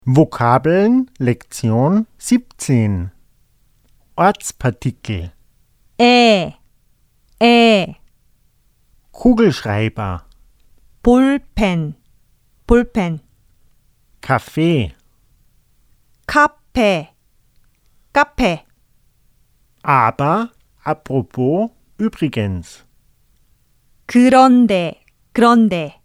Vokabeln Lektion 17 Ortspartikel 에, Kugelschreiber 볼펜, Kaffee 카페, aber, apropos, übrigens 그런데,